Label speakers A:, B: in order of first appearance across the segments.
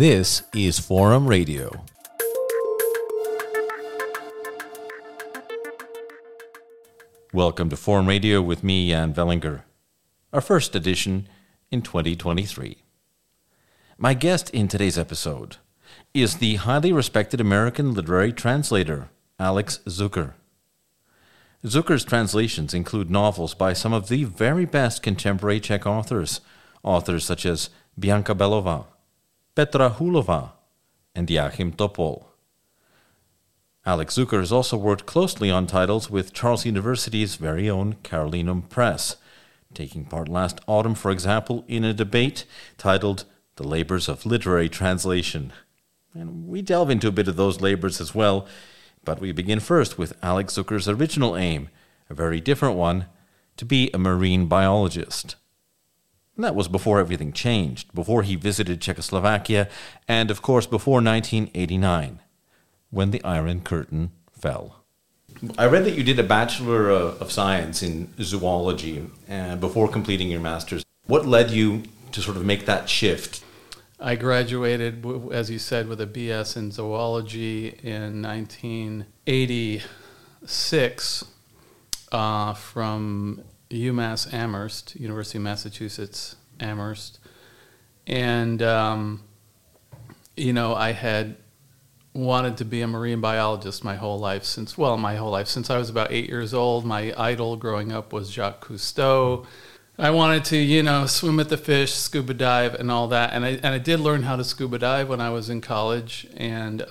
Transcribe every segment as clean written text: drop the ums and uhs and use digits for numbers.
A: This is Forum Radio. Welcome to Forum Radio with me, Jan Vellinger, our first edition in 2023. My guest in today's episode is the highly respected American literary translator, Alex Zucker. Zucker's translations include novels by some of the very best contemporary Czech authors such as Bianca Belová, Petra Hulova, and Joachim Topol. Alex Zucker has also worked closely on titles with Charles University's very own Carolinum Press, taking part last autumn, for example, in a debate titled The Labors of Literary Translation. And we delve into a bit of those labors as well, but we begin first with Alex Zucker's original aim, a very different one, to be a marine biologist. And that was before everything changed, before he visited Czechoslovakia, and of course before 1989. When the Iron Curtain fell. I read that you did a Bachelor of Science in Zoology before completing your Master's. What led you to sort of make that shift?
B: I graduated, as you said, with a BS in Zoology in 1986 from UMass Amherst, University of Massachusetts Amherst. And, I had wanted to be a marine biologist my whole life since I was about 8 years old. My idol growing up was Jacques Cousteau. I wanted to, swim with the fish, scuba dive, and all that. And I did learn how to scuba dive when I was in college. And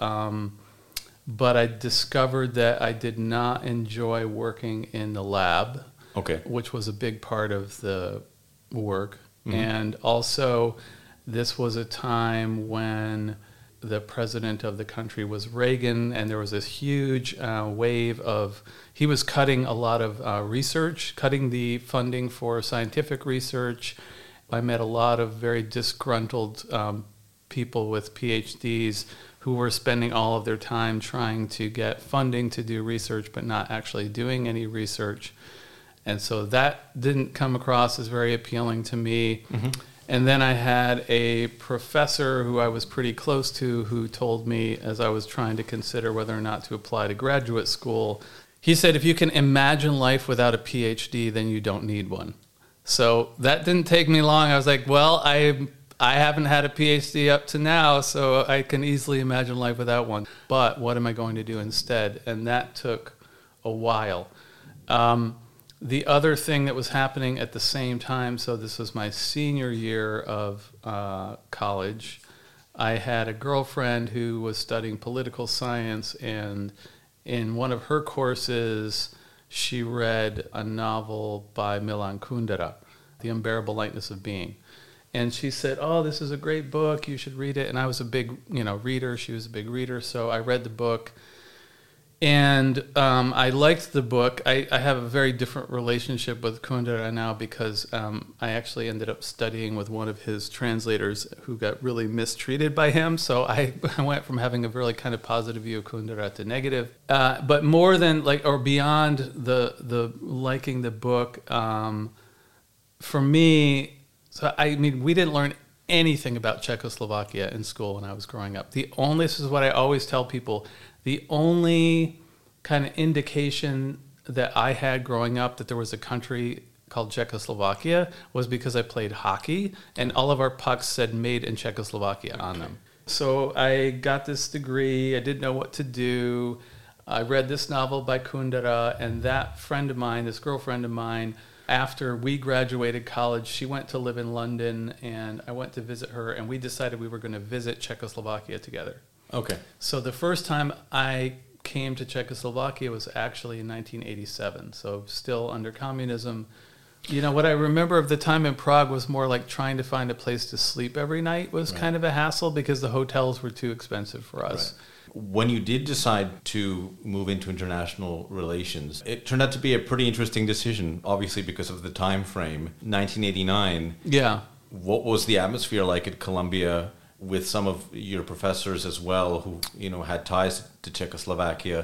B: but I discovered that I did not enjoy working in the lab, which was a big part of the work. Mm-hmm. And also, this was a time when the president of the country was Reagan, and there was this huge wave of, he was cutting a lot of research, cutting the funding for scientific research. I met a lot of very disgruntled people with PhDs who were spending all of their time trying to get funding to do research, but not actually doing any research. And so that didn't come across as very appealing to me. Mm-hmm. And then I had a professor who I was pretty close to who told me, as I was trying to consider whether or not to apply to graduate school, he said, if you can imagine life without a PhD, then you don't need one. So that didn't take me long. I was like, well, I haven't had a PhD up to now, so I can easily imagine life without one. But what am I going to do instead? And that took a while. The other thing that was happening at the same time, so this was my senior year of college, I had a girlfriend who was studying political science, and in one of her courses, she read a novel by Milan Kundera, The Unbearable Lightness of Being. And she said, oh, this is a great book, you should read it. And I was a big reader, she was a big reader, so I read the book. And I liked the book. I have a very different relationship with Kundera now because I actually ended up studying with one of his translators who got really mistreated by him. So I went from having a really kind of positive view of Kundera to negative. But more than beyond the liking the book, for me, we didn't learn anything about Czechoslovakia in school when I was growing up. This is what I always tell people, the only kind of indication that I had growing up that there was a country called Czechoslovakia was because I played hockey, and all of our pucks said made in Czechoslovakia on them. So I got this degree, I didn't know what to do. I read this novel by Kundera, and that friend of mine, this girlfriend of mine, after we graduated college, she went to live in London, and I went to visit her, and we decided we were going to visit Czechoslovakia together. Okay. So the first time I came to Czechoslovakia was actually in 1987, so still under communism. What I remember of the time in Prague was more like trying to find a place to sleep every night was kind of a hassle because the hotels were too expensive for us. Right.
A: When you did decide to move into international relations, it turned out to be a pretty interesting decision, obviously because of the time frame. 1989.
B: Yeah.
A: What was the atmosphere like at Columbia with some of your professors as well who, had ties to Czechoslovakia?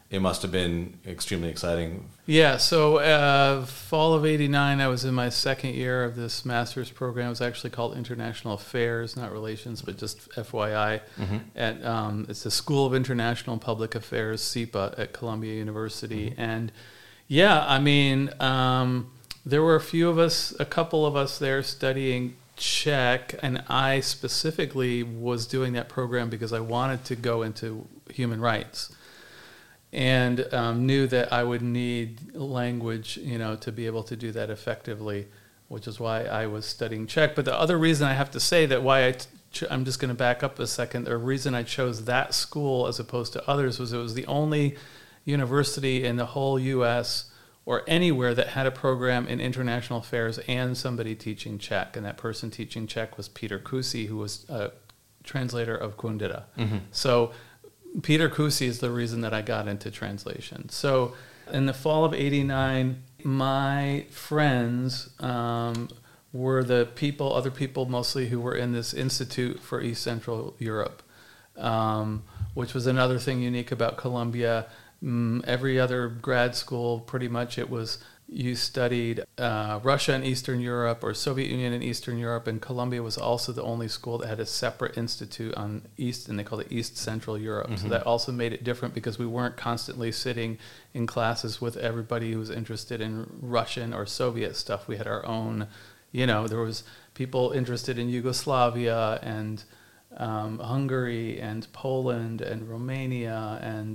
A: it must have been extremely exciting.
B: Yeah, so fall of '89, I was in my second year of this master's program. It was actually called International Affairs, not Relations, but just FYI. At it's the School of International and Public Affairs, SIPA, at Columbia University. And yeah, I mean, there were a couple of us there studying Czech, and I specifically was doing that program because I wanted to go into human rights, and knew that I would need language, to be able to do that effectively, which is why I was studying Czech. But the other reason I have to say that why I'm just going to back up a second. The reason I chose that school as opposed to others was it was the only university in the whole U.S. or anywhere that had a program in international affairs and somebody teaching Czech. And that person teaching Czech was Peter Kusi, who was a translator of Kundera. So Peter Kusi is the reason that I got into translation. So in the fall of '89, my friends were the other people mostly who were in this Institute for East Central Europe, which was another thing unique about Columbia. Every other grad school, pretty much you studied Russia and Eastern Europe or Soviet Union and Eastern Europe, and Columbia was also the only school that had a separate institute on East, and they called it East Central Europe. So that also made it different because we weren't constantly sitting in classes with everybody who was interested in Russian or Soviet stuff. We had our own, there was people interested in Yugoslavia and Hungary and Poland and Romania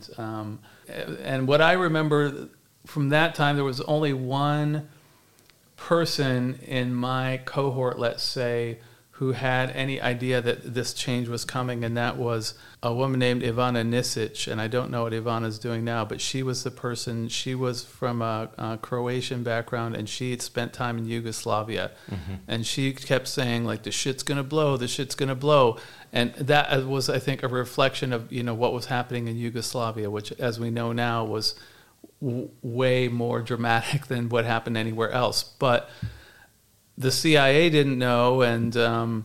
B: and what I remember from that time, there was only one person in my cohort, let's say, who had any idea that this change was coming, and that was a woman named Ivana Nisic, and I don't know what Ivana's doing now, but she was the person. She was from a Croatian background, and she had spent time in Yugoslavia, and she kept saying, like, the shit's gonna blow, and that was, I think, a reflection of what was happening in Yugoslavia, which, as we know now, was way more dramatic than what happened anywhere else. But the CIA didn't know, and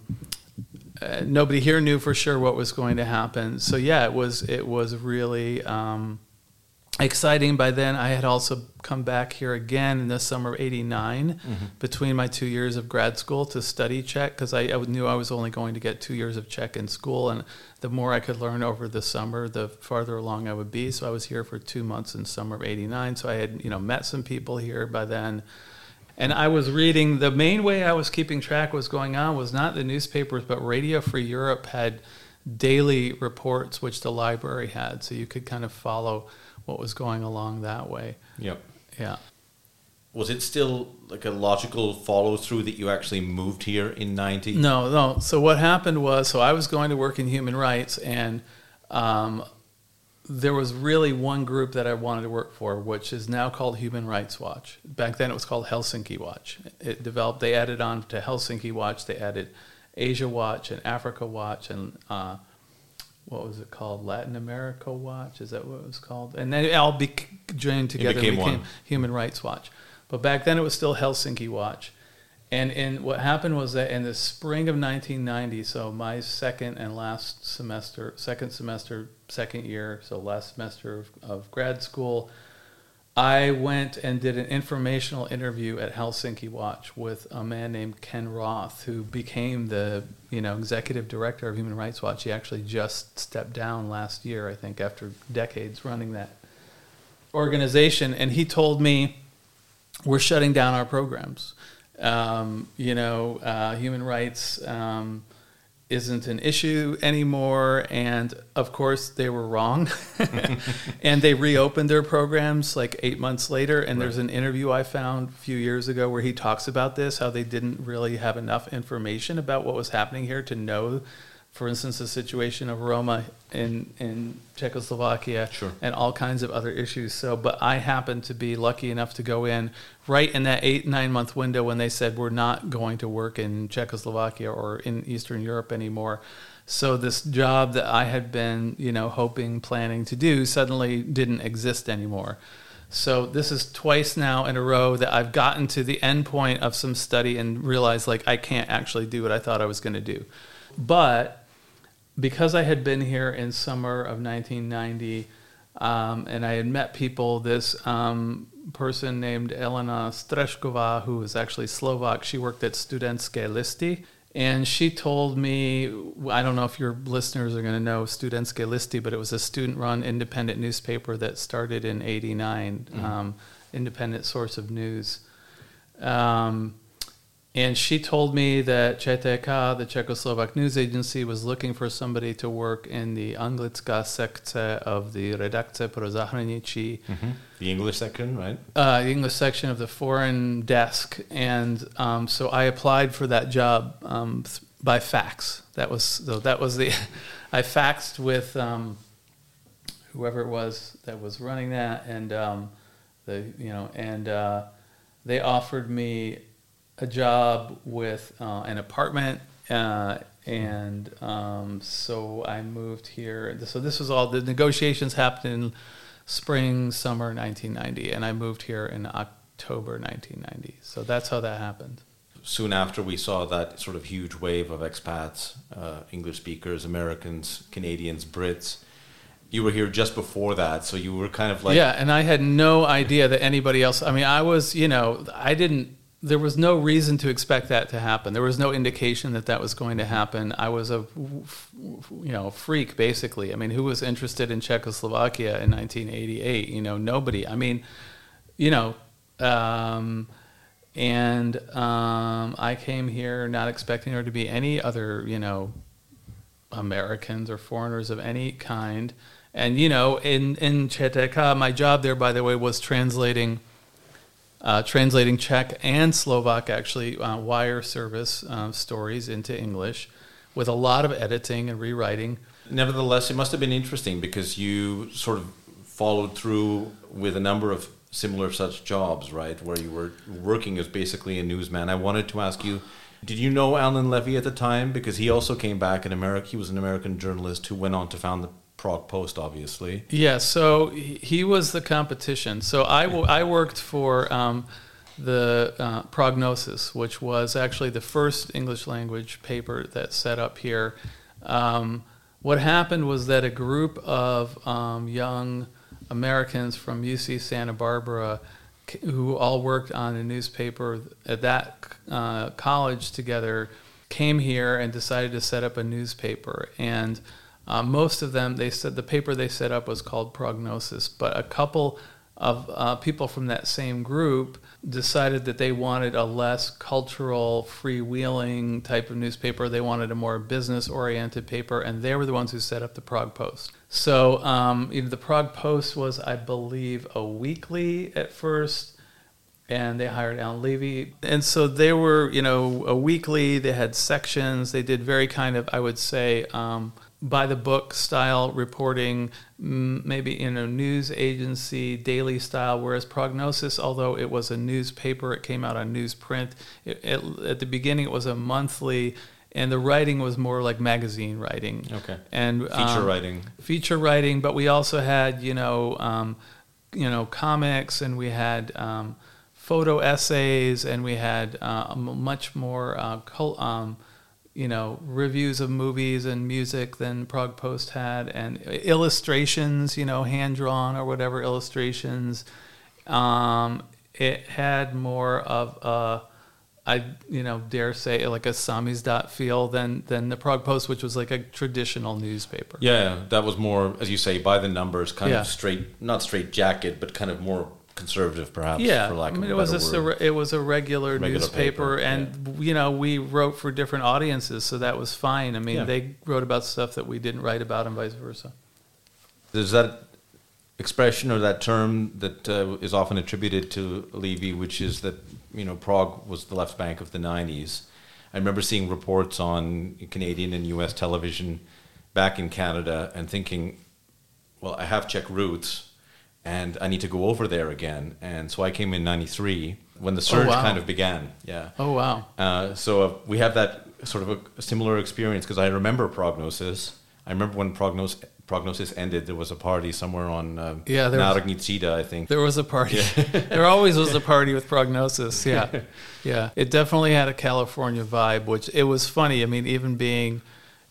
B: nobody here knew for sure what was going to happen. So yeah, it was really exciting. By then, I had also come back here again in the summer of '89 between my 2 years of grad school to study Czech, because I knew I was only going to get 2 years of Czech in school, and the more I could learn over the summer, the farther along I would be. So I was here for 2 months in summer of '89. So I had met some people here by then. And I was reading, the main way I was keeping track was going on was not the newspapers, but Radio Free Europe had daily reports, which the library had. So you could kind of follow what was going along that way.
A: Yep.
B: Yeah.
A: Was it still like a logical follow through that you actually moved here in '90?
B: No. So what happened was, I was going to work in human rights, and there was really one group that I wanted to work for, which is now called Human Rights Watch. Back then it was called Helsinki Watch. It developed, they added on to Helsinki Watch, they added Asia Watch and Africa Watch and what was it called? Latin America Watch? Is that what it was called? And then it all joined together and became Human Rights Watch. But back then it was still Helsinki Watch. And what happened was that in the spring of 1990, so my second year, so last semester of grad school, I went and did an informational interview at Helsinki Watch with a man named Ken Roth, who became the executive director of Human Rights Watch. He actually just stepped down last year, I think, after decades running that organization. And he told me, we're shutting down our programs. Human rights isn't an issue anymore. And of course they were wrong. And they reopened their programs like 8 months later. And There's an interview I found a few years ago where he talks about this, how they didn't really have enough information about what was happening here to know, for instance, the situation of Roma in Czechoslovakia, and all kinds of other issues. So, but I happened to be lucky enough to go in right in that 8-9 month window when they said we're not going to work in Czechoslovakia or in Eastern Europe anymore. So this job that I had been, hoping, planning to do suddenly didn't exist anymore. So this is twice now in a row that I've gotten to the end point of some study and realized I can't actually do what I thought I was going to do. But because I had been here in summer of 1990, And I had met people. This person named Elena Strešková, who was actually Slovak. She worked at Studentské listy. And she told me, I don't know if your listeners are going to know Studentské listy, but it was a student-run independent newspaper that started in '89, independent source of news. And she told me that ČTK, the Czechoslovak news agency, was looking for somebody to work in the anglická sekce of the Redakce pro zahraničí.
A: The English section, right?
B: The English section of the foreign desk. And so I applied for that job by fax. That was the I faxed with whoever it was that was running that, and they offered me a job with an apartment, and so I moved here. So this was all, the negotiations happened in spring, summer 1990, and I moved here in October 1990. So that's how that happened.
A: Soon after, we saw that sort of huge wave of expats, English speakers, Americans, Canadians, Brits. You were here just before that, so you were kind of like...
B: Yeah, and I had no idea that anybody else... I mean, I was, there was no reason to expect that to happen. There was no indication that that was going to happen. I was a freak, basically. I mean, who was interested in Czechoslovakia in 1988? Nobody. I mean, I came here not expecting there to be any other, Americans or foreigners of any kind. And, in ČTK, my job there, by the way, was translating Czech and Slovak, actually, wire service stories into English with a lot of editing and rewriting.
A: Nevertheless, it must have been interesting because you sort of followed through with a number of similar such jobs, right, where you were working as basically a newsman. I wanted to ask you, did you know Alan Levy at the time? Because he also came back in America. He was an American journalist who went on to found the Prague Post, obviously.
B: Yeah, so he was the competition. So I worked for the Prognosis, which was actually the first English language paper that set up here. What happened was that a group of young Americans from UC Santa Barbara, who all worked on a newspaper at that college together, came here and decided to set up a newspaper. And most of them, they said the paper they set up was called Prognosis, but a couple of people from that same group decided that they wanted a less cultural, freewheeling type of newspaper. They wanted a more business-oriented paper, and they were the ones who set up the Prague Post. So the Prague Post was, I believe, a weekly at first, and they hired Alan Levy. And so they were, a weekly. They had sections. They did very kind of, I would say, by-the-book style reporting, maybe in a news agency, daily style, whereas Prognosis, although it was a newspaper, it came out on newsprint. At the beginning, it was a monthly, and the writing was more like magazine writing.
A: Okay.
B: And
A: feature
B: writing, but we also had, comics, and we had photo essays, and we had much more reviews of movies and music than Prague Post had, and illustrations, hand-drawn or whatever illustrations. It had more of I dare say, like a samizdat feel than the Prague Post, which was like a traditional newspaper.
A: Yeah, that was more, as you say, by the numbers, kind of not straight jacket, but kind of more conservative, perhaps.
B: Yeah,
A: for lack of a better word.
B: It was a regular newspaper, and we wrote for different audiences, so that was fine. I mean, they wrote about stuff that we didn't write about, and vice versa.
A: There's that expression or that term that is often attributed to Levy, which is that Prague was the left bank of the 90s. I remember seeing reports on Canadian and U.S. television back in Canada and thinking, well, I have Czech roots, and I need to go over there again. And so I came in 93 when the surge kind of began. Yeah.
B: Oh, wow.
A: So we have that sort of a similar experience, because I remember Prognosis. I remember when Prognosis ended, there was a party somewhere on Národní třída, I think.
B: There was a party. Yeah. There always was a party with Prognosis, yeah. Yeah. It definitely had a California vibe, which it was funny. I mean, even being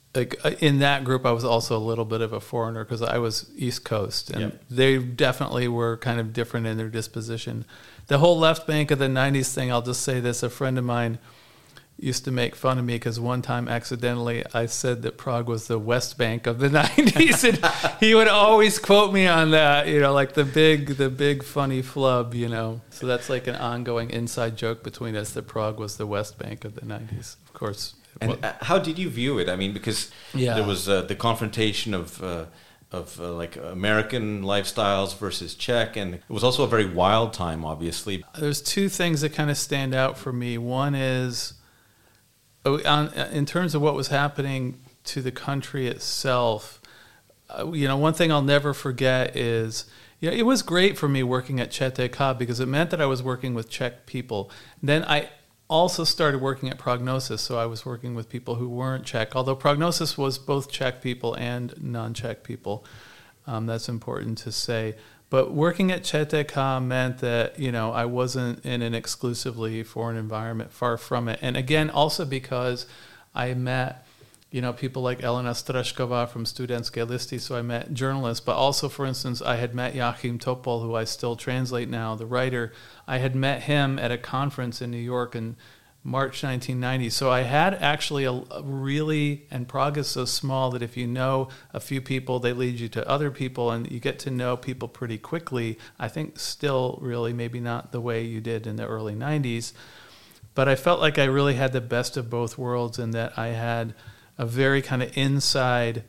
B: like in that group, I was also a little bit of a foreigner because I was East Coast, and they definitely were kind of different in their disposition. The whole left bank of the 90s thing, I'll just say this, a friend of mine used to make fun of me because one time accidentally I said that Prague was the West Bank of the 90s, and he would always quote me on that, like the big funny flub, So that's like an ongoing inside joke between us that Prague was the West Bank of the 90s, of course.
A: And how did you view it? I mean, because there was the confrontation of like American lifestyles versus Czech, and it was also a very wild time, obviously.
B: There's two things that kind of stand out for me. One is, in terms of what was happening to the country itself, one thing I'll never forget is, it was great for me working at ČTK because it meant that I was working with Czech people. Then I also started working at Prognosis, so I was working with people who weren't Czech, although Prognosis was both Czech people and non-Czech people. That's important to say. But working at ČTK meant that, I wasn't in an exclusively foreign environment, far from it. And again, also because I met, people like Elena Strašková from Studentské listy, so I met journalists. But also, for instance, I had met Joachim Topol, who I still translate now, the writer. I had met him at a conference in New York in March 1990. So I had actually a really, and Prague is so small that if you know a few people, they lead you to other people, and you get to know people pretty quickly. I think still really maybe not the way you did in the early 90s. But I felt like I really had the best of both worlds in that I had a very kind of inside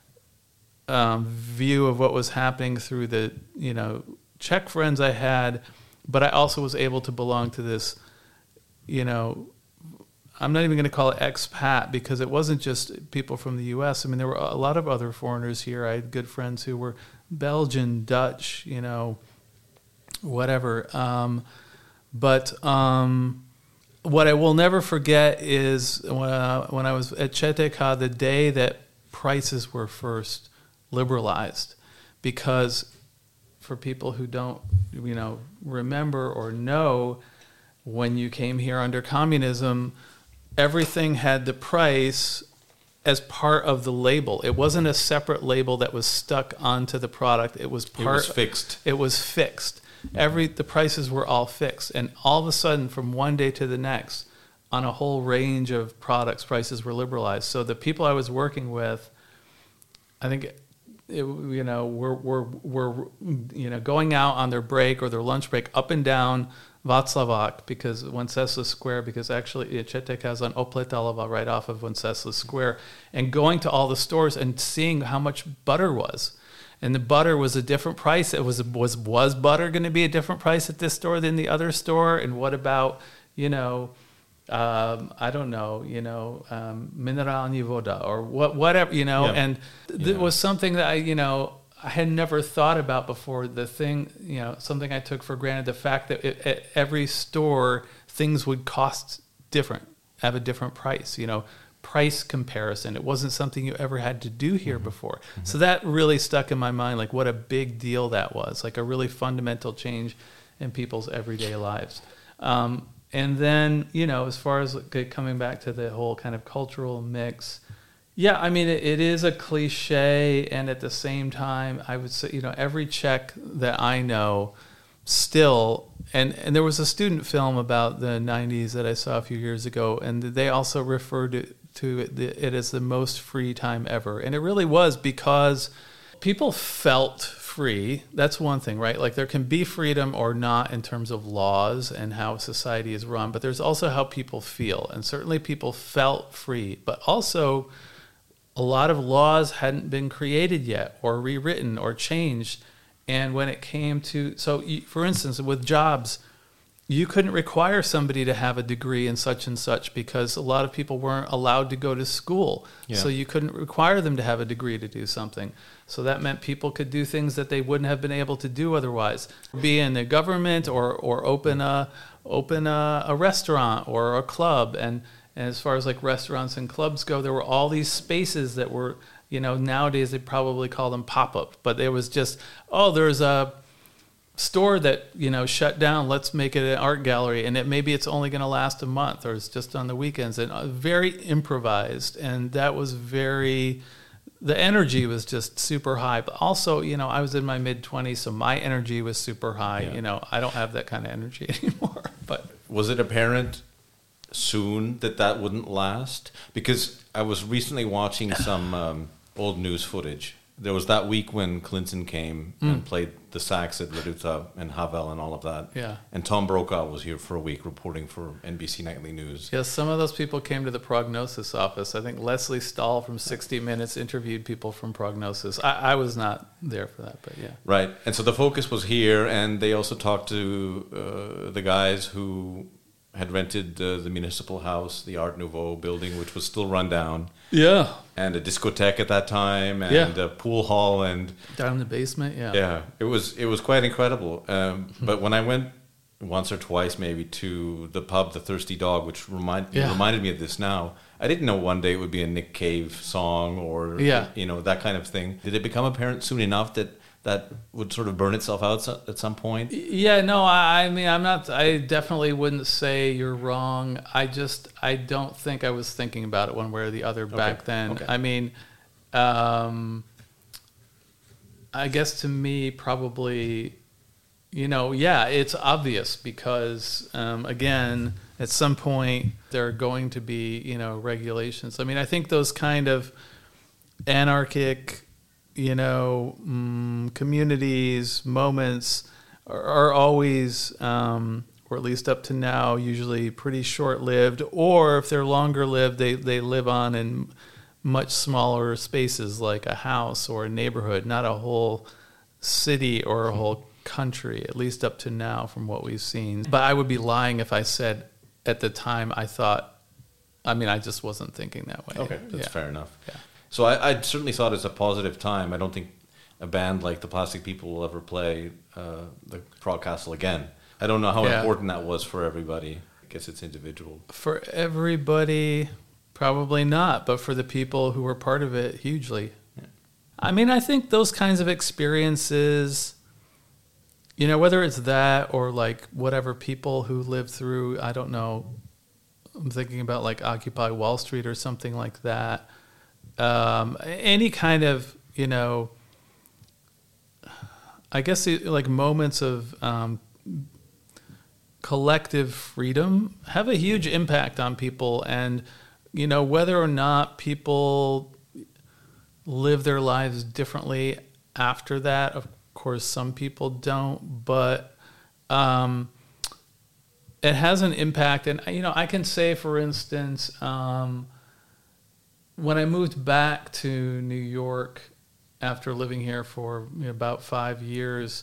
B: view of what was happening through the, Czech friends I had, but I also was able to belong to this, I'm not even going to call it expat because it wasn't just people from the U.S. I mean, there were a lot of other foreigners here. I had good friends who were Belgian, Dutch, whatever. But what I will never forget is when I was at ČTK, the day that prices were first liberalized, because for people who don't, remember or know, when you came here under communism, everything had the price as part of the label. It wasn't a separate label that was stuck onto the product. It was
A: fixed.
B: It was fixed. The prices were all fixed, and all of a sudden, from one day to the next, on a whole range of products, prices were liberalized. So the people I was working with, I think, were going out on their break or their lunch break up and down Václavák, because Wenceslas Square, because actually ČTK has on Opletalova right off of Wenceslas Square, and going to all the stores and seeing how much butter was. And the butter was a different price. It was butter going to be a different price at this store than the other store? And what about, I don't know, minerální voda or whatever, And it was something that I had never thought about before. The thing, something I took for granted, the fact that at every store things would cost different, have a different price, price comparison. It wasn't something you ever had to do here before. Mm-hmm. So that really stuck in my mind, like what a big deal that was, like a really fundamental change in people's everyday lives. And then, as far as coming back to the whole kind of cultural mix, yeah, I mean, it is a cliche, and at the same time, I would say, every Czech that I know still, and there was a student film about the 90s that I saw a few years ago, and they also referred to it as the most free time ever. And it really was, because people felt free. That's one thing, right? Like there can be freedom or not in terms of laws and how society is run, but there's also how people feel. And certainly people felt free, but also a lot of laws hadn't been created yet or rewritten or changed. And when it came to, for instance, with jobs, you couldn't require somebody to have a degree in such and such because a lot of people weren't allowed to go to school. Yeah. So you couldn't require them to have a degree to do something. So that meant people could do things that they wouldn't have been able to do otherwise. Be in the government or open a restaurant or a club. And as far as like restaurants and clubs go, there were all these spaces that were, nowadays they probably call them pop-up. But there was just, there's a store that, shut down. Let's make it an art gallery, and maybe it's only going to last a month, or it's just on the weekends, and very improvised. And that was the energy was just super high. But also, I was in my mid-20s, so my energy was super high.
A: Yeah.
B: I don't have that kind of energy anymore. But
A: was it apparent soon that wouldn't last? Because I was recently watching some old news footage. There was that week when Clinton came and played the sax at La Ruta and Havel and all of that.
B: Yeah.
A: And Tom Brokaw was here for a week reporting for NBC Nightly News.
B: yes, some of those people came to the Prognosis office. I think Leslie Stahl from 60 Minutes interviewed people from Prognosis. I was not there for that, but yeah.
A: Right. And so the focus was here, and they also talked to the guys who had rented the municipal house, the Art Nouveau building, which was still run down.
B: Yeah.
A: And a discotheque at that time, and a pool hall, and
B: Down in the basement, yeah.
A: yeah, it was quite incredible. But when I went once or twice, maybe, to the pub, the Thirsty Dog, which reminded me of this now, I didn't know one day it would be a Nick Cave song or that kind of thing. Did it become apparent soon enough that would sort of burn itself out at some point?
B: Yeah, no, I mean, I definitely wouldn't say you're wrong. I don't think I was thinking about it one way or the other back then.
A: Okay.
B: I mean, I guess to me, probably, it's obvious because, again, at some point there are going to be, regulations. I mean, I think those kind of anarchic, communities, moments are always, or at least up to now, usually pretty short-lived. Or if they're longer-lived, they live on in much smaller spaces, like a house or a neighborhood, not a whole city or a whole country, at least up to now from what we've seen. But I would be lying if I said at the time I just wasn't thinking that way.
A: Okay, that's fair enough.
B: Yeah.
A: So I certainly thought it's a positive time. I don't think a band like the Plastic People will ever play the Prague Castle again. I don't know how important that was for everybody. I guess it's individual.
B: For everybody, probably not, but for the people who were part of it, hugely. Yeah. I mean, I think those kinds of experiences, whether it's that or like whatever people who lived through, I don't know, I'm thinking about like Occupy Wall Street or something like that. Any kind of, I guess like moments of collective freedom have a huge impact on people. And, whether or not people live their lives differently after that, of course, some people don't, but it has an impact. And, I can say, for instance, when I moved back to New York after living here for about 5 years,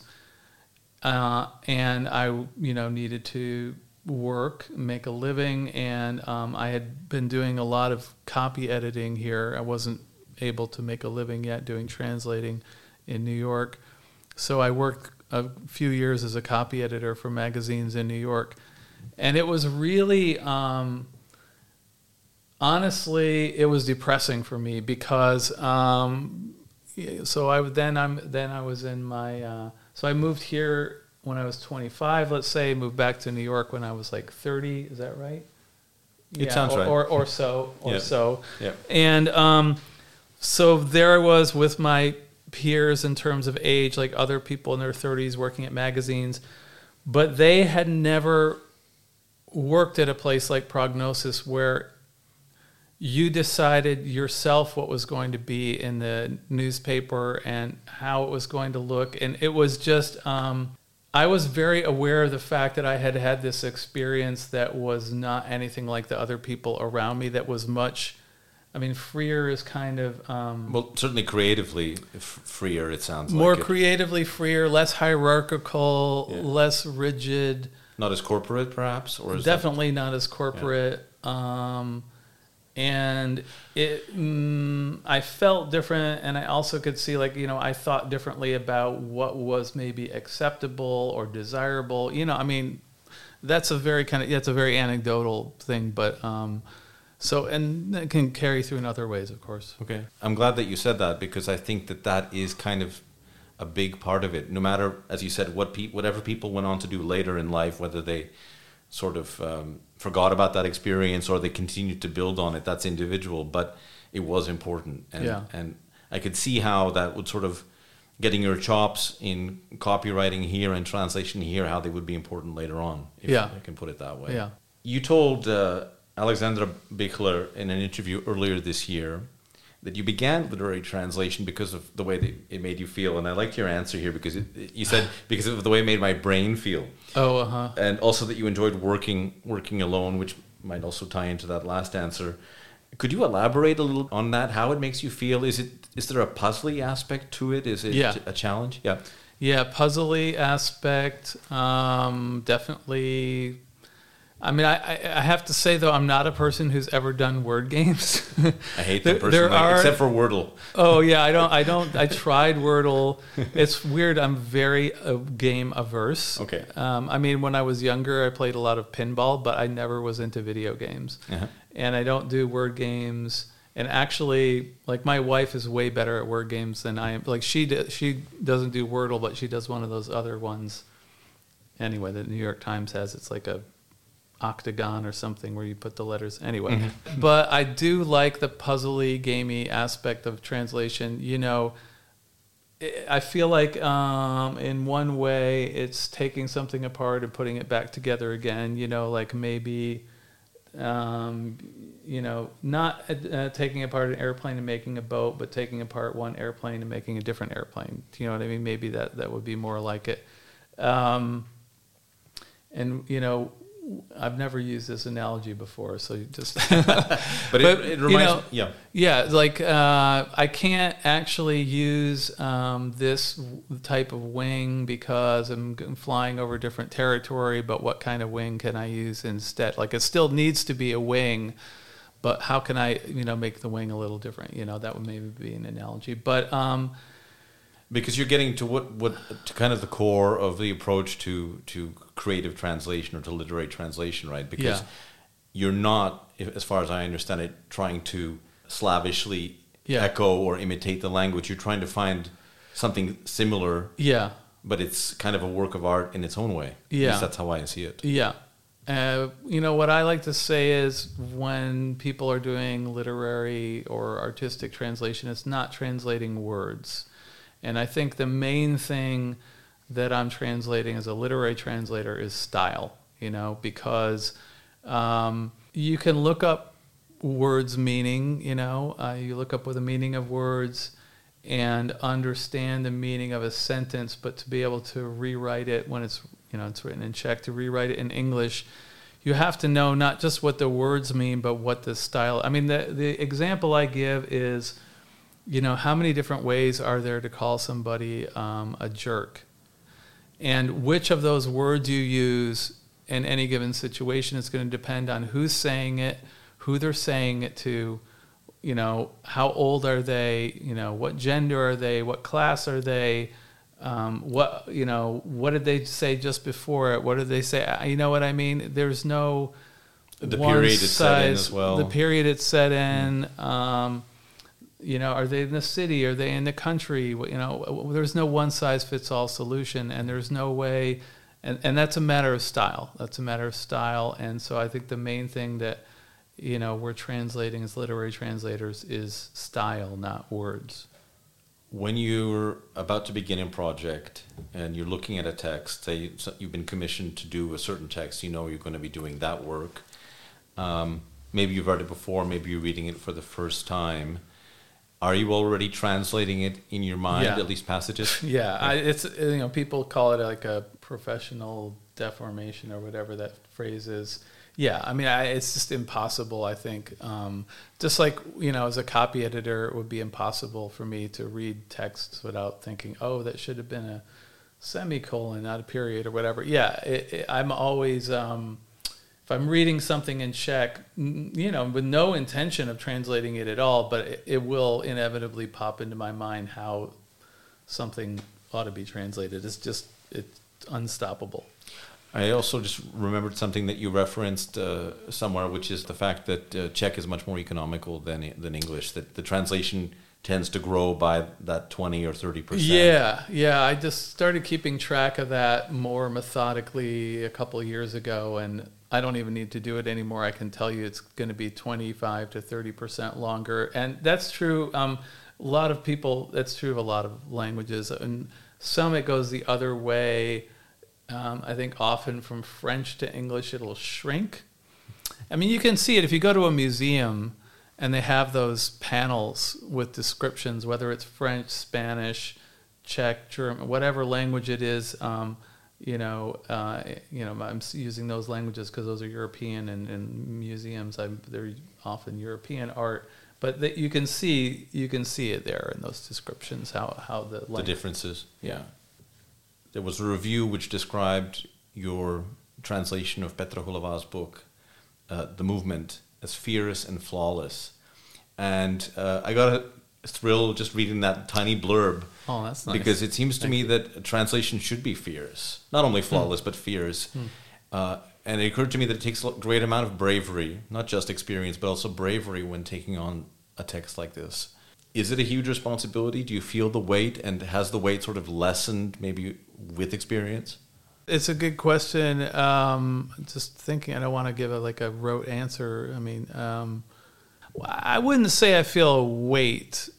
B: and I needed to work, make a living, and I had been doing a lot of copy editing here. I wasn't able to make a living yet doing translating in New York, so I worked a few years as a copy editor for magazines in New York, and it was really honestly, it was depressing for me because I moved here when I was 25, let's say, moved back to New York when I was like 30. Is that right?
A: It sounds right.
B: Or so.
A: Yeah.
B: And so there I was with my peers in terms of age, like other people in their 30s working at magazines, but they had never worked at a place like Prognosis where you decided yourself what was going to be in the newspaper and how it was going to look. And it was just, I was very aware of the fact that I had had this experience that was not anything like the other people around me, that was much, freer is kind of...
A: well, certainly creatively freer, it sounds like.
B: More creatively freer, less hierarchical, less rigid.
A: Not as corporate, perhaps? Or is
B: definitely not as corporate. Yeah. And I felt different, and I also could see, I thought differently about what was maybe acceptable or desirable. That's a very it's a very anecdotal thing, but and it can carry through in other ways, of course.
A: Okay. I'm glad that you said that, because I think that is kind of a big part of it. No matter, as you said, whatever people went on to do later in life, whether they sort of forgot about that experience or they continued to build on it, that's individual. But it was important, and I could see how that would sort of getting your chops in copywriting here and translation here, how they would be important later on, if I can put it that way.
B: Yeah.
A: You told Alexandra Bichler in an interview earlier this year that you began literary translation because of the way that it made you feel. And I liked your answer here because you said because of the way it made my brain feel.
B: Oh, uh-huh.
A: And also that you enjoyed working alone, which might also tie into that last answer. Could you elaborate a little on that, how it makes you feel? Is there a puzzly aspect to it? Is it a challenge? Yeah.
B: Yeah, puzzly aspect, definitely. I mean, I have to say, though, I'm not a person who's ever done word games.
A: I hate them personally, except for Wordle.
B: Oh, yeah, I tried Wordle. It's weird. I'm very game averse.
A: Okay.
B: I mean, when I was younger, I played a lot of pinball, but I never was into video games. Uh-huh. And I don't do word games. And actually, like, my wife is way better at word games than I am. Like, she doesn't do Wordle, but she does one of those other ones. Anyway, the New York Times has, it's like a octagon or something where you put the letters. Anyway, mm-hmm. But I do like the puzzly, gamey aspect of translation. You know, I feel like in one way it's taking something apart and putting it back together again. You know, like maybe... you know, not taking apart an airplane and making a boat, but taking apart one airplane and making a different airplane. Do you know what I mean? Maybe that would be more like it. And, you know, I've never used this analogy before, so you just...
A: but it reminds me... Yeah.
B: Yeah, like I can't actually use this type of wing because I'm flying over different territory, but what kind of wing can I use instead? Like, it still needs to be a wing, but how can I, you know, make the wing a little different? You know, that would maybe be an analogy. But...
A: because you're getting to what to kind of the core of the approach to creative translation or to literary translation, right? Because you're not, as far as I understand it, trying to slavishly echo or imitate the language. You're trying to find something similar. Yeah. But it's kind of a work of art in its own way. Yeah. At least that's how I see it.
B: Yeah. You know, what I like to say is when people are doing literary or artistic translation, it's not translating words. And I think the main thing that I'm translating as a literary translator is style, you know, because you can look up words' meaning, you know, you look up what the meaning of words and understand the meaning of a sentence, but to be able to rewrite it when it's, you know, it's written in Czech, to rewrite it in English, you have to know not just what the words mean, but what the style. I mean, the example I give is, you know, how many different ways are there to call somebody a jerk? And which of those words you use in any given situation is going to depend on who's saying it, who they're saying it to, you know, how old are they, you know, what gender are they, what class are they, what, you know, what did they say just before it, what did they say, you know what I mean? There's no
A: the period it's set in as well.
B: The period it's set in, you know, are they in the city? Are they in the country? You know, there's no one-size-fits-all solution, and there's no way, and that's a matter of style. That's a matter of style, and so I think the main thing that, you know, we're translating as literary translators is style, not words.
A: When you're about to begin a project and you're looking at a text, say you've been commissioned to do a certain text, you know you're going to be doing that work. Maybe you've read it before, maybe you're reading it for the first time. Are you already translating it in your mind, at least passages?
B: Yeah, it's, you know, people call it like a professional deformation or whatever that phrase is. Yeah, I mean, it's just impossible, I think. Just like, you know, as a copy editor, it would be impossible for me to read texts without thinking, oh, that should have been a semicolon, not a period or whatever. Yeah, I'm always... if I'm reading something in Czech, you know, with no intention of translating it at all, but it will inevitably pop into my mind how something ought to be translated. It's unstoppable.
A: I also just remembered something that you referenced somewhere, which is the fact that Czech is much more economical than English, that the translation tends to grow by that 20 or 30%.
B: Yeah. I just started keeping track of that more methodically a couple of years ago, and I don't even need to do it anymore. I can tell you it's going to be 25 to 30% longer, and that's true. A lot of people, that's true of a lot of languages, and some it goes the other way. I think often from French to English it'll shrink. I mean, you can see it if you go to a museum and they have those panels with descriptions, whether it's French, Spanish, Czech, German, whatever language it is. I'm using those languages because those are European, and museums, they're often European art. But you can see it there in those descriptions how the
A: differences. Yeah. There was a review which described your translation of Petra Hulová's book, The Movement, as fierce and flawless. And I got a thrill just reading that tiny blurb.
B: Oh, that's nice.
A: Because it seems to me that a translation should be fierce. Not only flawless, but fierce. And it occurred to me that it takes a great amount of bravery, not just experience, but also bravery when taking on a text like this. Is it a huge responsibility? Do you feel the weight? And has the weight sort of lessened maybe with experience?
B: It's a good question. Just thinking, I don't want to give a rote answer. I mean, I wouldn't say I feel a weight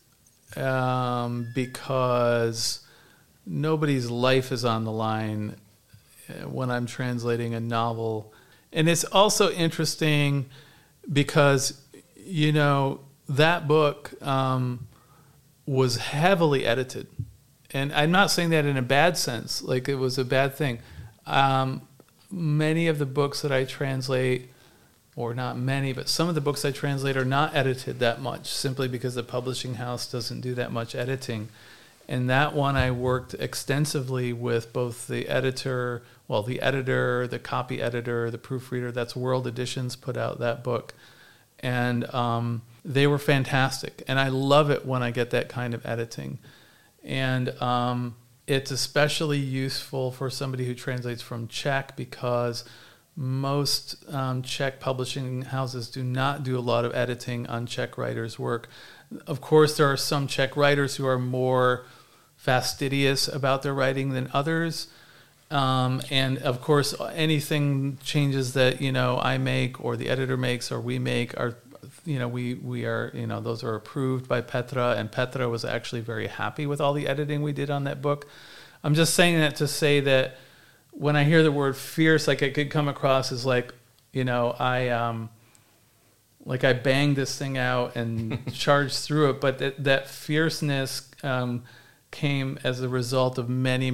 B: because nobody's life is on the line when I'm translating a novel. And it's also interesting because, that book was heavily edited. And I'm not saying that in a bad sense, like it was a bad thing. Many of the books that I translate, or not many, but some of the books I translate are not edited that much, simply because the publishing house doesn't do that much editing. And that one I worked extensively with both the editor, the copy editor, the proofreader. That's World Editions put out that book. And they were fantastic. And I love it when I get that kind of editing. And it's especially useful for somebody who translates from Czech, because most Czech publishing houses do not do a lot of editing on Czech writers' work. Of course, there are some Czech writers who are more fastidious about their writing than others. And of course, anything changes that, I make or the editor makes or we make are, we are, those are approved by Petra, and Petra was actually very happy with all the editing we did on that book. I'm just saying that to say that when I hear the word fierce, like it could come across as I banged this thing out and charged through it, but that fierceness came as a result of many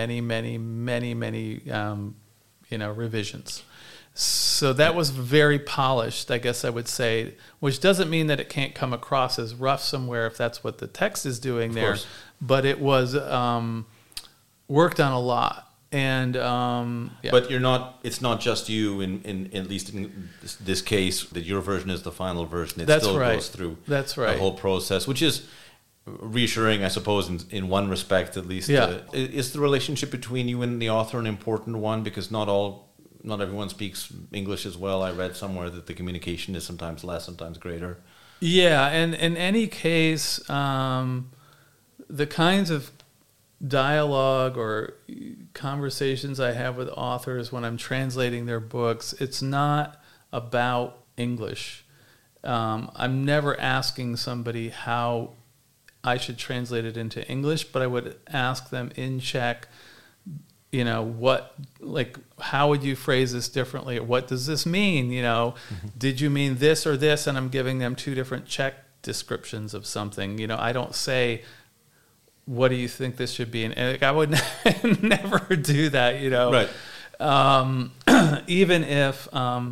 B: revisions. So that was very polished, I guess I would say, which doesn't mean that it can't come across as rough somewhere if that's what the text is doing there. But it was worked on a lot. And
A: But it's not just you in at least in this case that your version is the final version. It still goes through the whole process, which is reassuring, I suppose, in one respect at least. Is the relationship between you and the author an important one? Because not everyone speaks English as well. I read somewhere that the communication is sometimes less, sometimes greater.
B: Yeah, and in any case, the kinds of dialogue or conversations I have with authors when I'm translating their books, it's not about English. I'm never asking somebody how I should translate it into English, but I would ask them in Czech, how would you phrase this differently? What does this mean? Did you mean this or this? And I'm giving them two different Czech descriptions of something. I don't say, what do you think this should be? And I would never do that,
A: Right.
B: Even if,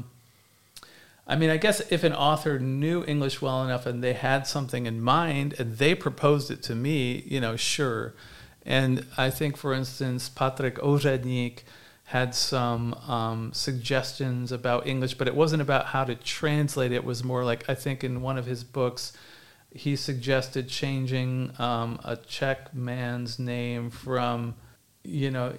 B: I guess if an author knew English well enough and they had something in mind and they proposed it to me, sure. And I think, for instance, Patrik Oředník had some suggestions about English, but it wasn't about how to translate it. It was more like, I think in one of his books, he suggested changing a Czech man's name from,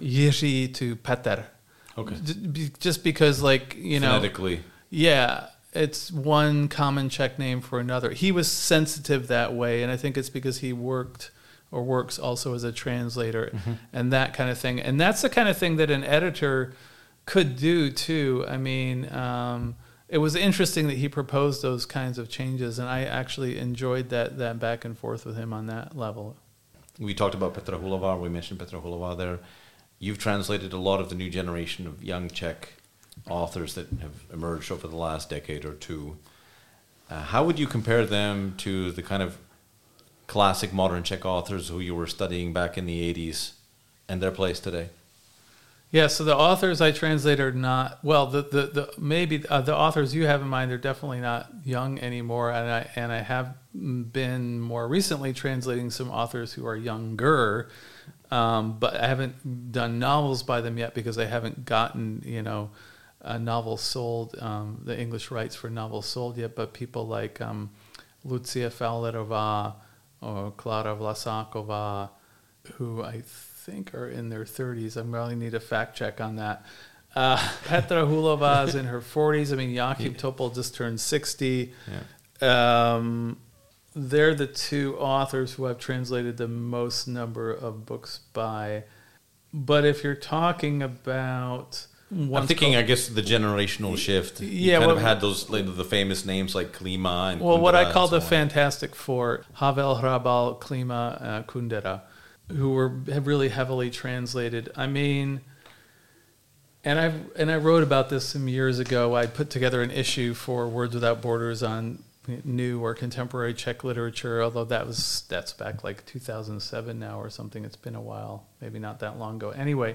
B: Jiří to Petr.
A: Okay.
B: Just because,
A: phonetically.
B: Yeah. it's one common Czech name for another. He was sensitive that way, and I think it's because he worked or works also as a translator and that kind of thing. And that's the kind of thing that an editor could do too. I mean, it was interesting that he proposed those kinds of changes, and I actually enjoyed that back and forth with him on that level.
A: We talked about Petra Hulova. We mentioned Petra Hulova there. You've translated a lot of the new generation of young Czech authors that have emerged over the last decade or two. How would you compare them to the kind of classic modern Czech authors who you were studying back in the 80s and their place today?
B: Yeah, so the authors I translate are not, well, the authors you have in mind are definitely not young anymore, and I have been more recently translating some authors who are younger, but I haven't done novels by them yet because I haven't gotten, a novel sold, the English rights for novels sold yet, but people like Lucia Fowlerová or Klára Vlasáková, who I think are in their 30s. I really need a fact check on that. Petra Hulova is in her 40s. I mean, Jakub Topol just turned 60. Yeah. They're the two authors who I've translated the most number of books by. But if you're talking about...
A: I'm thinking, I guess, the generational shift. You kind of had those, the famous names like Klima and Kundera.
B: Well, what I call the Fantastic Four, Havel, Hrabal, Klima, Kundera, who have really heavily translated. I mean, and I wrote about this some years ago. I put together an issue for Words Without Borders on new or contemporary Czech literature, although that's back like 2007 now or something. It's been a while, maybe not that long ago. Anyway,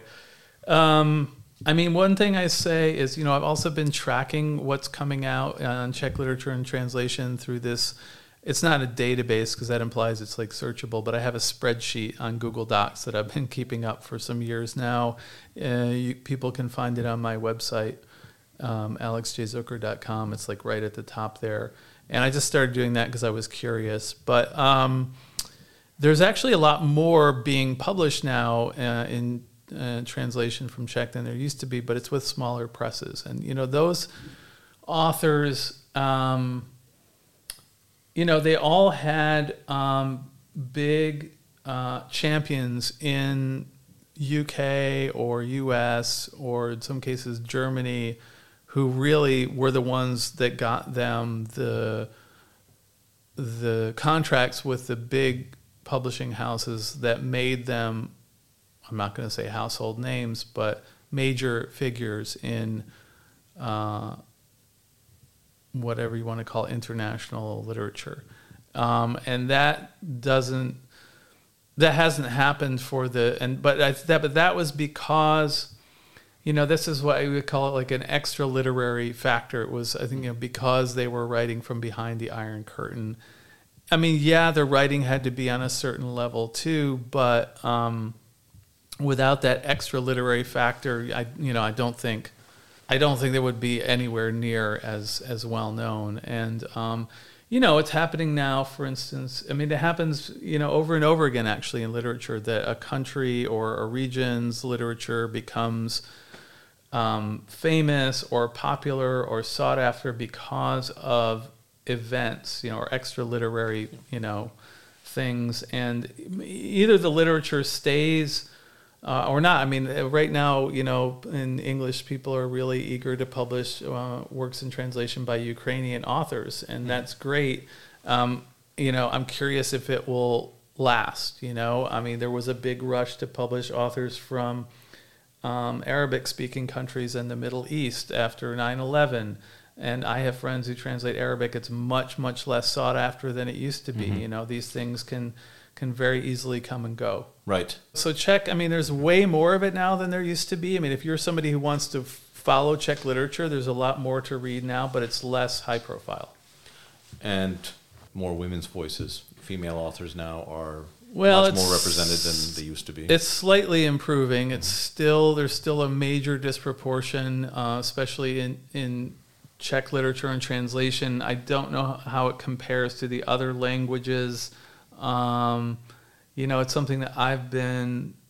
B: I mean, one thing I say is, I've also been tracking what's coming out on Czech literature and translation through this. It's not a database because that implies it's like searchable, but I have a spreadsheet on Google Docs that I've been keeping up for some years now. People can find it on my website, alexjzucker.com. It's like right at the top there. And I just started doing that because I was curious. But there's actually a lot more being published now in translation from Czech than there used to be, but it's with smaller presses. And, those authors... they all had big champions in UK or US or in some cases Germany who really were the ones that got them the contracts with the big publishing houses that made them, I'm not going to say household names, but major figures in whatever you want to call international literature, and that hasn't happened for but that was because, this is what I would call it, like an extra literary factor. It was, I think, because they were writing from behind the Iron Curtain. I mean, yeah, their writing had to be on a certain level too, but without that extra literary factor, I don't think they would be anywhere near as well known. And it's happening now. For instance, I mean, it happens over and over again actually in literature that a country or a region's literature becomes famous or popular or sought after because of events, or extra literary things, and either the literature stays or not. I mean, right now, in English, people are really eager to publish works in translation by Ukrainian authors, and that's great. I'm curious if it will last. I mean, there was a big rush to publish authors from Arabic-speaking countries in the Middle East after 9/11, and I have friends who translate Arabic. It's much, much less sought after than it used to be. These things can very easily come and go.
A: Right.
B: So Czech, I mean, there's way more of it now than there used to be. I mean, if you're somebody who wants to follow Czech literature, there's a lot more to read now, but it's less high profile.
A: And more women's voices. Female authors now are much more represented than they used to be.
B: It's slightly improving. It's there's still a major disproportion, especially in Czech literature and translation. I don't know how it compares to the other languages. It's something that I've been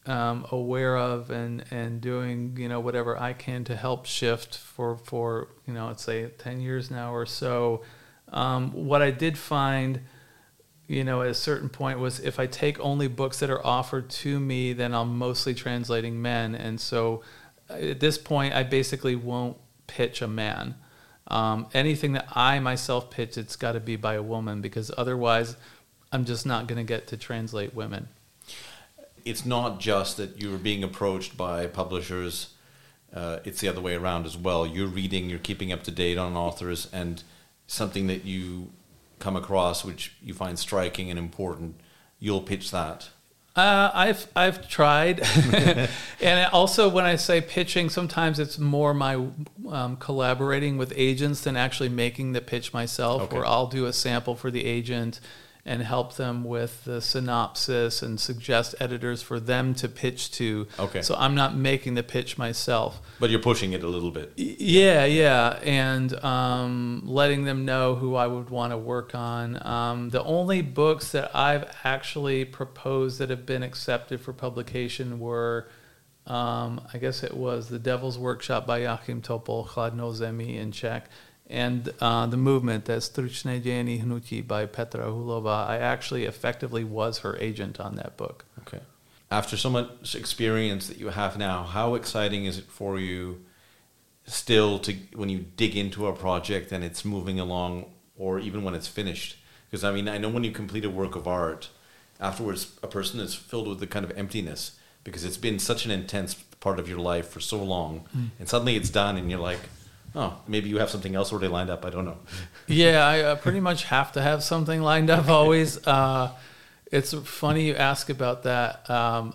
B: aware of and doing, whatever I can to help shift for let's say 10 years now or so. What I did find, at a certain point was if I take only books that are offered to me, then I'm mostly translating men. And so at this point, I basically won't pitch a man. Anything that I myself pitch, it's got to be by a woman, because otherwise I'm just not going to get to translate women.
A: It's not just that you're being approached by publishers, it's the other way around as well. You're reading, you're keeping up to date on authors, and something that you come across which you find striking and important, you'll pitch that.
B: I've tried, and also when I say pitching, sometimes it's more my collaborating with agents than actually making the pitch myself.
A: Okay.
B: Where I'll do a sample for the agent and help them with the synopsis and suggest editors for them to pitch to.
A: Okay.
B: So I'm not making the pitch myself.
A: But you're pushing it a little bit.
B: Yeah, and letting them know who I would want to work on. The only books that I've actually proposed that have been accepted for publication were, I guess it was The Devil's Workshop by Joachim Topol, Chladno Zemi in Czech, and The Movement, that's Stručné dějiny hnutí by Petra Hulova. I actually effectively was her agent on that book.
A: Okay. After so much experience that you have now, how exciting is it for you still to when you dig into a project and it's moving along, or even when it's finished? Because I know when you complete a work of art, afterwards a person is filled with the kind of emptiness because it's been such an intense part of your life for so long, and suddenly it's done and you're like, oh, maybe you have something else already lined up. I don't know.
B: Yeah, I pretty much have to have something lined up always. It's funny you ask about that.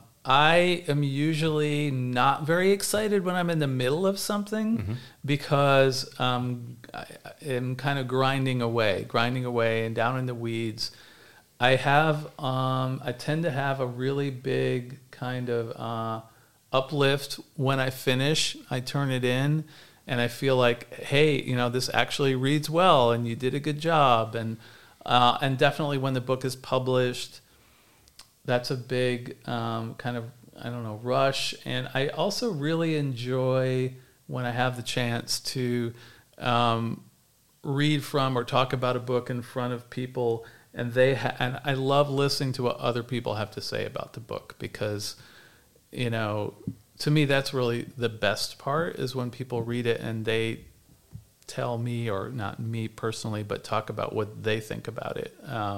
B: I am usually not very excited when I'm in the middle of something because I am kind of grinding away and down in the weeds. I tend to have a really big kind of uplift when I finish. I turn it in and I feel like, hey, this actually reads well and you did a good job. And definitely when the book is published, that's a big kind of, rush. And I also really enjoy when I have the chance to read from or talk about a book in front of people, and and I love listening to what other people have to say about the book, because, to me, that's really the best part, is when people read it and they tell me, or not me personally, but talk about what they think about it.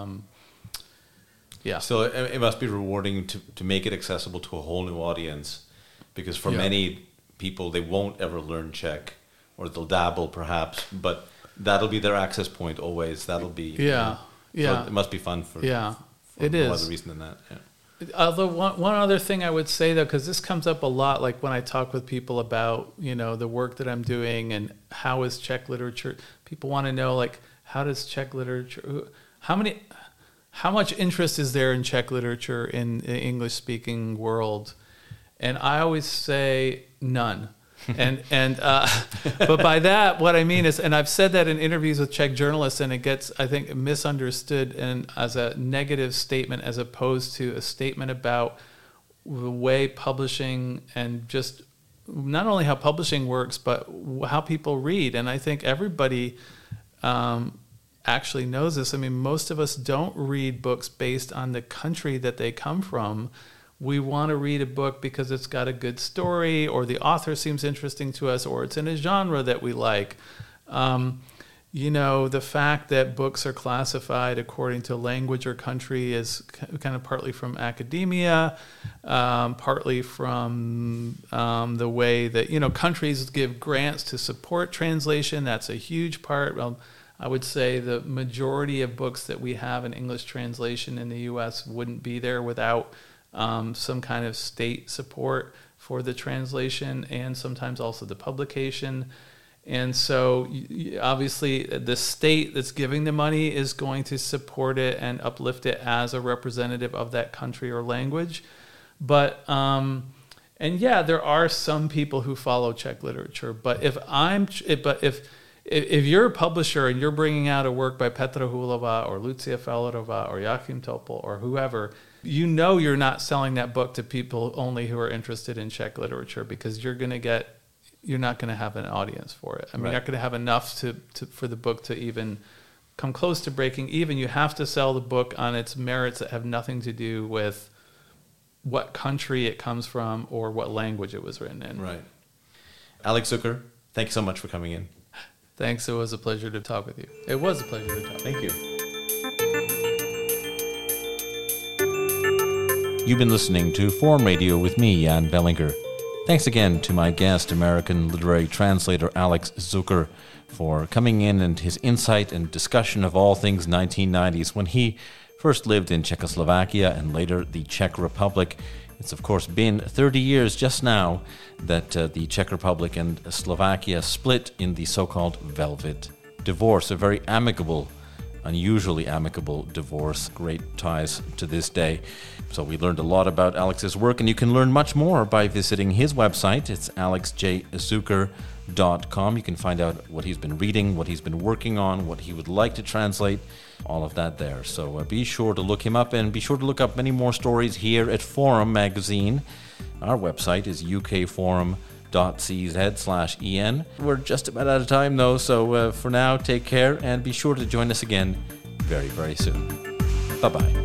B: Yeah.
A: So it must be rewarding to make it accessible to a whole new audience, because for many people, they won't ever learn Czech, or they'll dabble perhaps, but that'll be their access point always. That'll be...
B: Yeah.
A: So it must be fun for no other reason than that. Yeah.
B: Although one other thing I would say, though, because this comes up a lot, like when I talk with people about, the work that I'm doing and how is Czech literature, people want to know, like, how does Czech literature, how much interest is there in Czech literature in the English-speaking world? And I always say none. But by that, what I mean is, and I've said that in interviews with Czech journalists, and it gets, I think, misunderstood and as a negative statement, as opposed to a statement about the way publishing and just not only how publishing works, but how people read. And I think everybody actually knows this. I mean, most of us don't read books based on the country that they come from. We want to read a book because it's got a good story, or the author seems interesting to us, or it's in a genre that we like. The fact that books are classified according to language or country is kind of partly from academia, partly from the way that, countries give grants to support translation. That's a huge part. I would say the majority of books that we have in English translation in the U.S. wouldn't be there without some kind of state support for the translation, and sometimes also the publication. And so obviously the state that's giving the money is going to support it and uplift it as a representative of that country or language. But there are some people who follow Czech literature. But if you're a publisher and you're bringing out a work by Petra Hulova or Lucia Fellerova or Joachim Topol or whoever, You know you're not selling that book to people only who are interested in Czech literature, because you're not going to have an audience for it. I mean,
A: Right.
B: you're not going to have enough for the book to even come close to breaking even. You have to sell the book on its merits that have nothing to do with what country it comes from or what language it was written in.
A: Right. Alex Zucker, thanks so much for coming in.
B: Thanks. It was a pleasure to talk with you. It was a pleasure to talk.
A: Thank you. You've been listening to Forum Radio with me, Jan Bellinger. Thanks again to my guest, American literary translator Alex Zucker, for coming in and his insight and discussion of all things 1990s when he first lived in Czechoslovakia and later the Czech Republic. It's, of course, been 30 years just now that the Czech Republic and Slovakia split in the so-called Velvet Divorce, a very amicable, unusually amicable divorce. Great ties to this day. So we learned a lot about Alex's work, and you can learn much more by visiting his website. It's alexjzucker.com. You can find out what he's been reading, what he's been working on, what he would like to translate, all of that there. So be sure to look him up, and be sure to look up many more stories here at Forum Magazine. Our website is ukforum.cz/en. We're just about out of time, though, so for now, take care, and be sure to join us again very, very soon. Bye-bye.